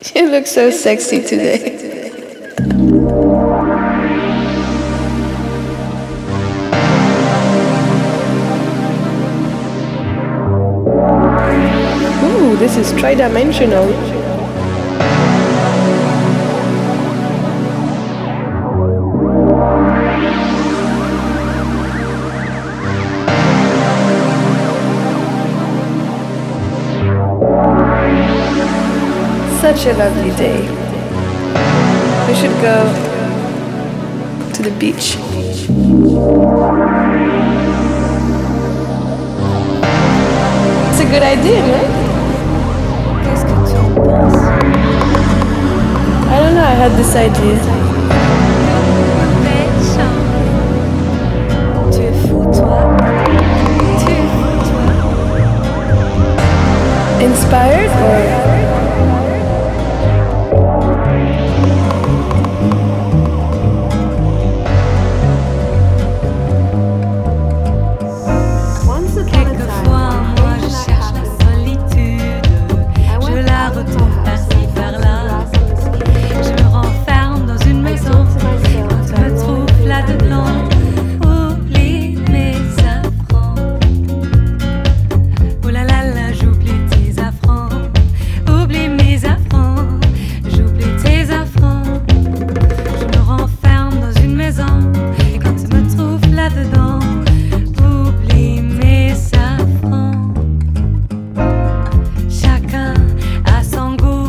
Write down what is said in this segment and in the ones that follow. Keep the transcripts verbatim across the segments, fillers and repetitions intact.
You look so sexy today. Ooh, this is tridimensional. Such a lovely day. We should go to the beach. It's a good idea, right? Qu'est-ce que tu en penses? I don't know, I had this idea. Belle chambre. Tu es fou, toi. Tu es fou, toi. Inspired or? Chacun a son goût.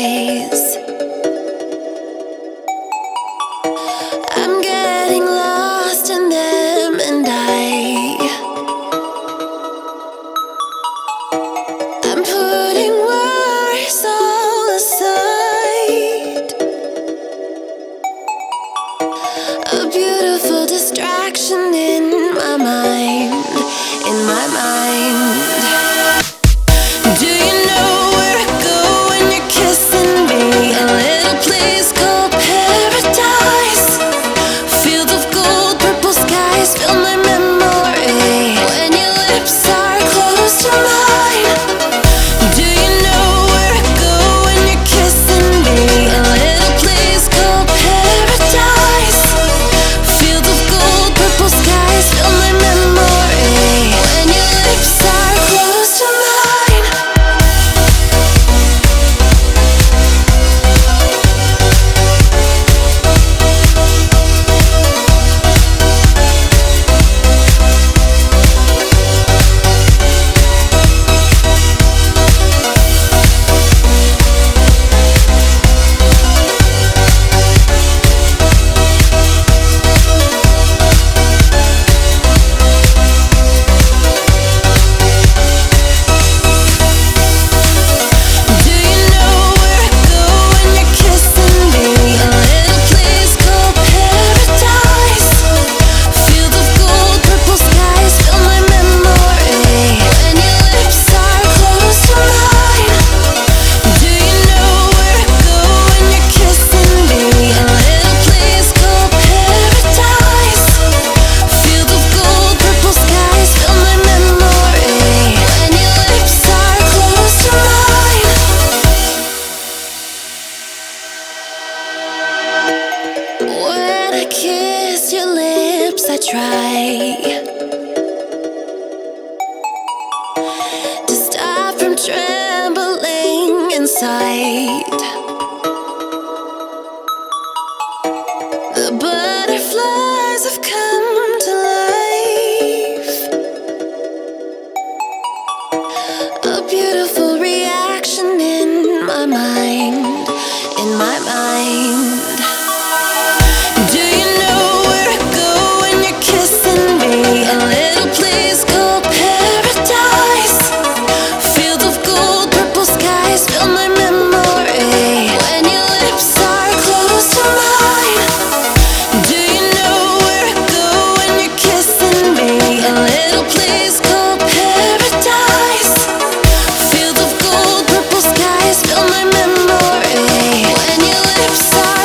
eyes. I'm getting lost in them, and I I'm putting worries all aside. A beautiful distraction in my mind, in my mind. Do you know where to go when you're kissing me? A little place called paradise. Field of gold, purple skies fill my memory when your lips are close to mine. Do you know where to go when you're kissing me? A little place called paradise. Field of gold, purple skies fill my memory when your lips are close to mine. When I kiss your lips, I try to stop from trembling inside. The butterflies have come to life. A beautiful reaction in my mind, in my mind. Do you know where to go when you're kissing me? A little place called paradise. Field of gold, purple skies fill my memory when your lips are close to mine. Do you know where to go when you're kissing me? A little place called paradise. Field of gold, purple skies fill my memory when your lips are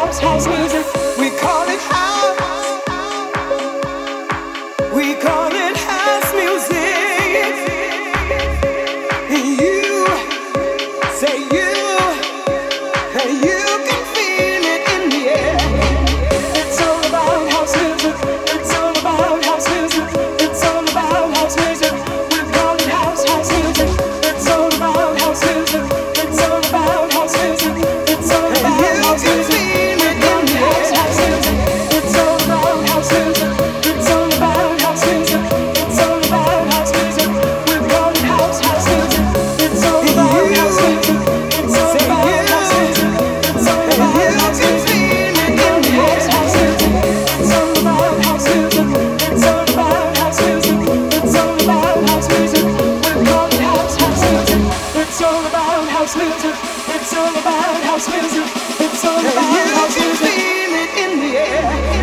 house, house music. We call it house. We call it house music. And you say you, and you can feel it in the air. It's all about house music. It's all about house music. It's all about house music. We call it house, house music. It's all about house music. It's all about house music. It's all about house music. We call it house, house music. It's all about house music. It's all about house music. It's all about house music. We call it house, house music. It's all about house music. It's all about house music. It's all about house music. We call it house, house music. It's all about house music. It's all about house music. It's all about house music. We call it house, house music. It's all about house music. It's all about house music. It's all about house music. Feel it in the air.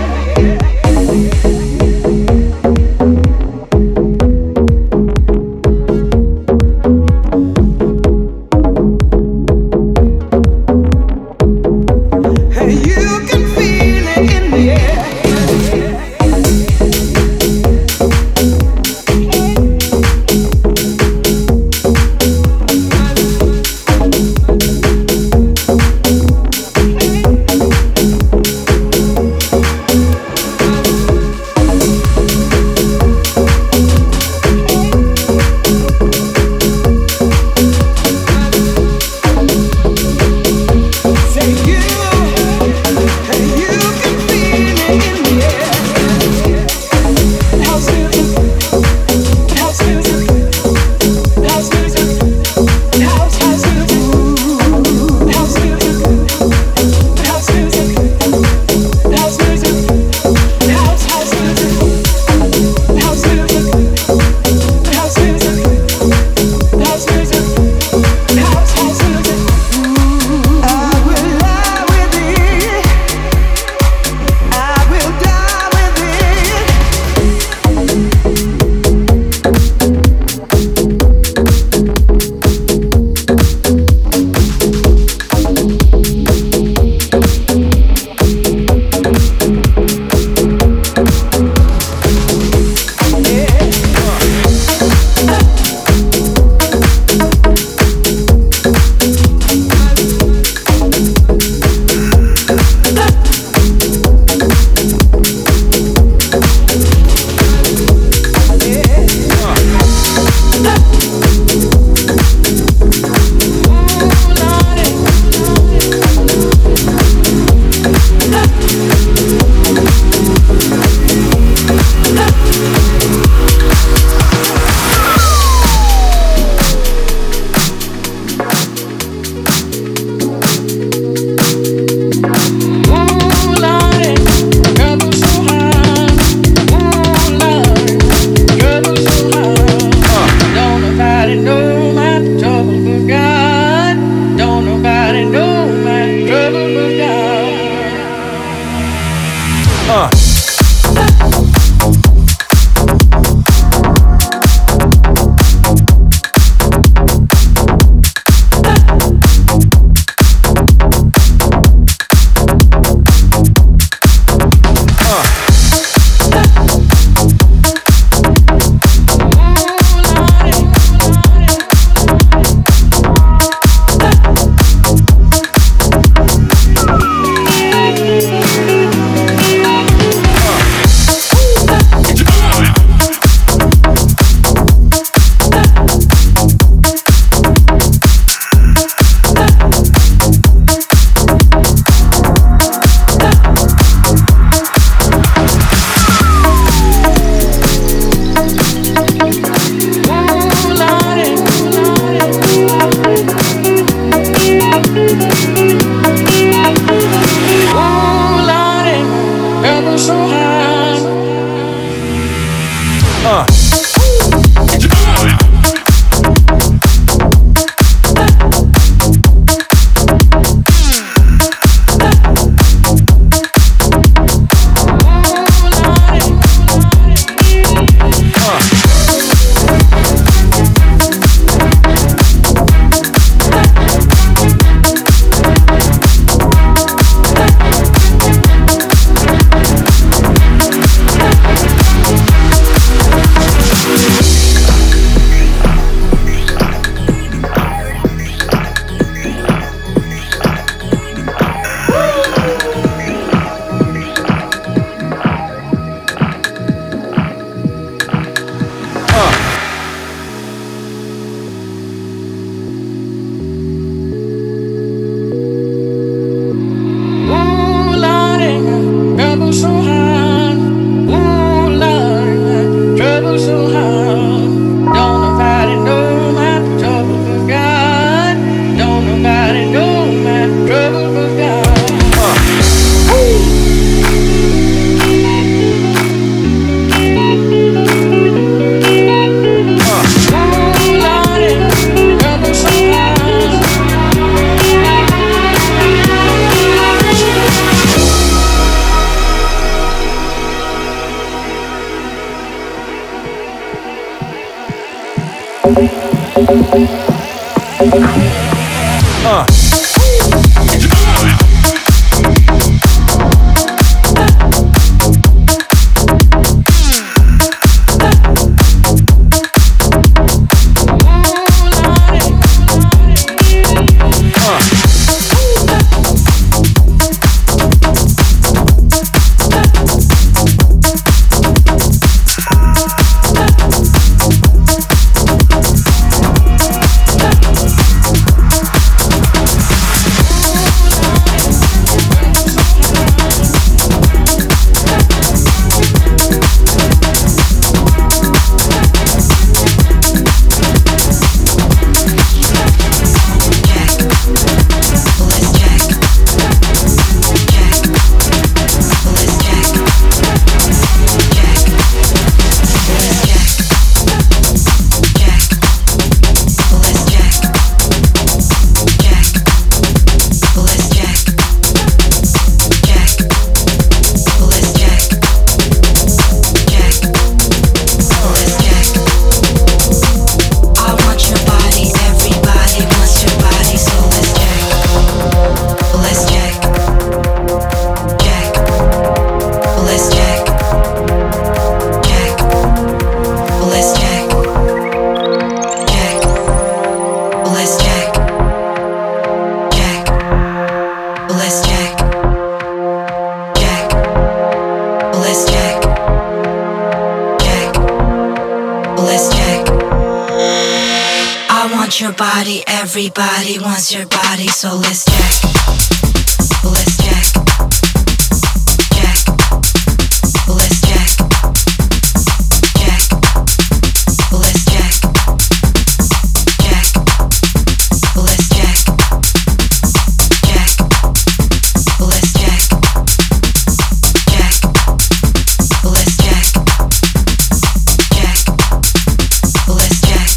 Uh. Everybody wants your body, so let's check. Let's check. Check. Let's check. Check. Let's check. Check. Let's check. Check. Let's check. Check. Let's check. Check. Let's check.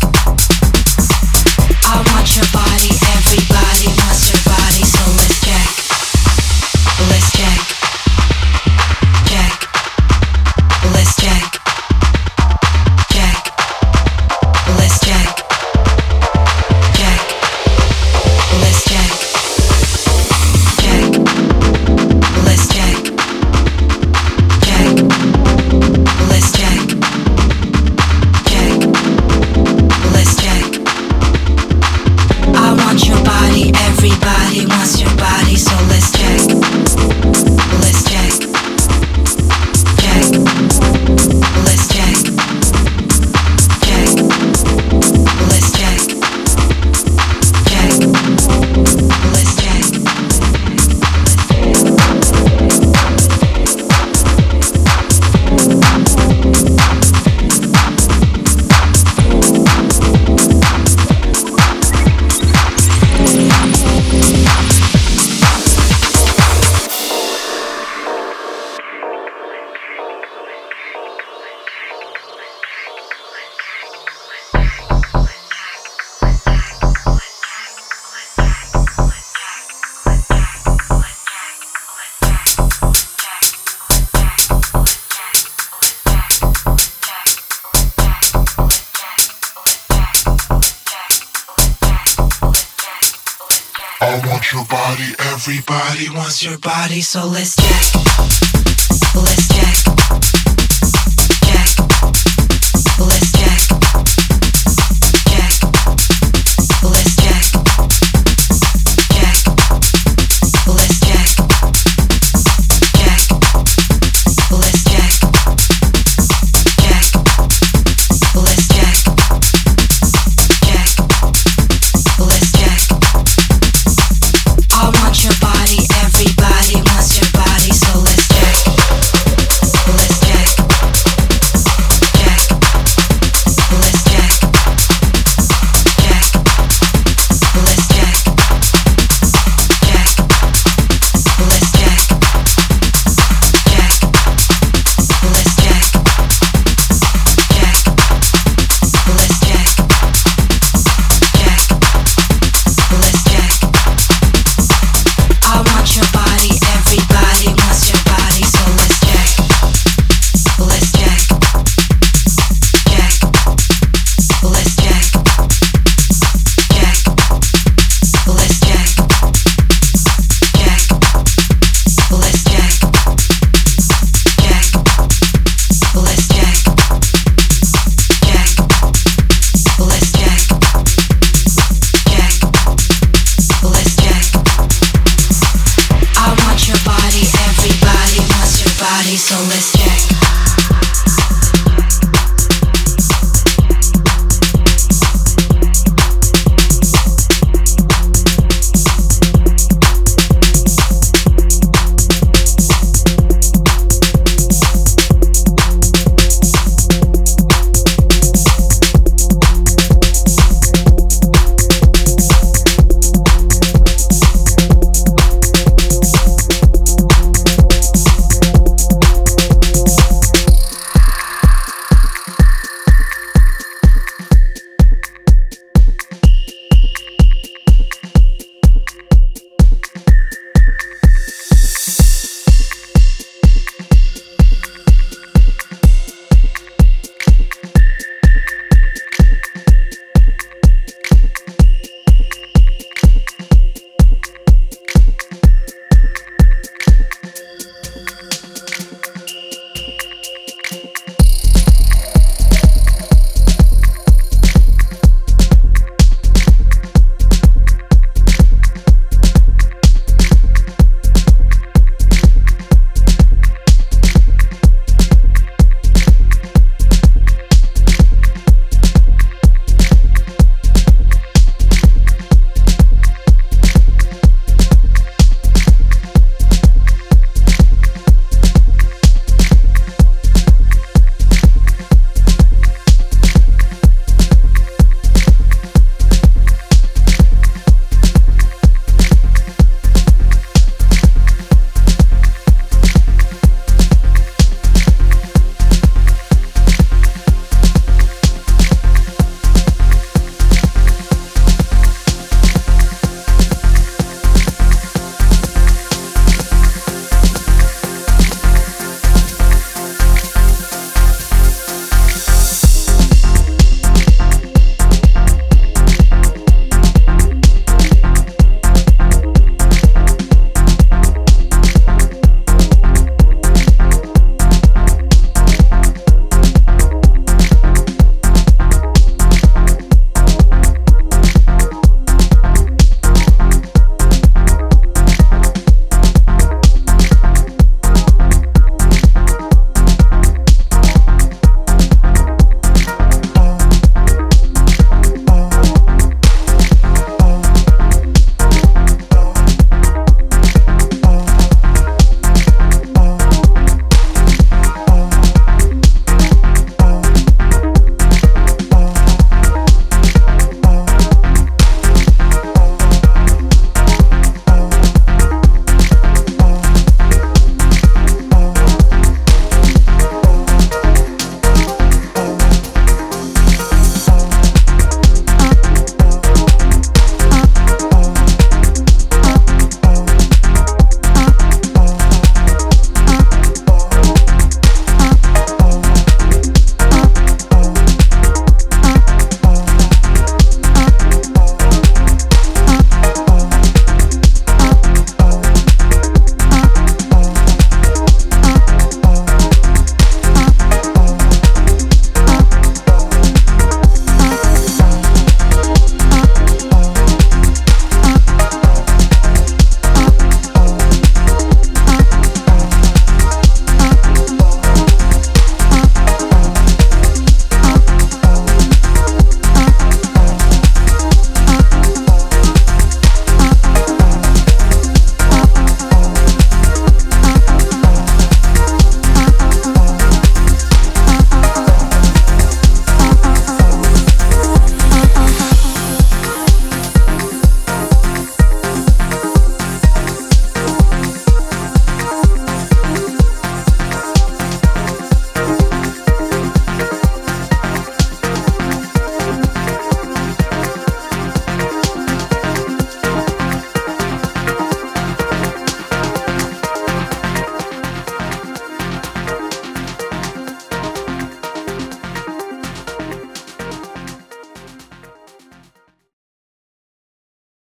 I want your body, everybody wants your body, so let's check. Let's check. Check. Let's check. Check. Let's check. Check. Let's check. Check. Let's check. Check. Let's check. Check. Let's check. I want your body, everybody wants your body, so let's check. Let's check. Check. Let's check. Check. Let's check. Check. Let's check. I want your body, everybody wants your body, so let's check. Let's check. Check. Let's check. Check. Let's check. Check. Let's check. Check. Let's check. Check. Let's check. Check. Let's check. I want your body, everybody wants your body, so let's check. so let's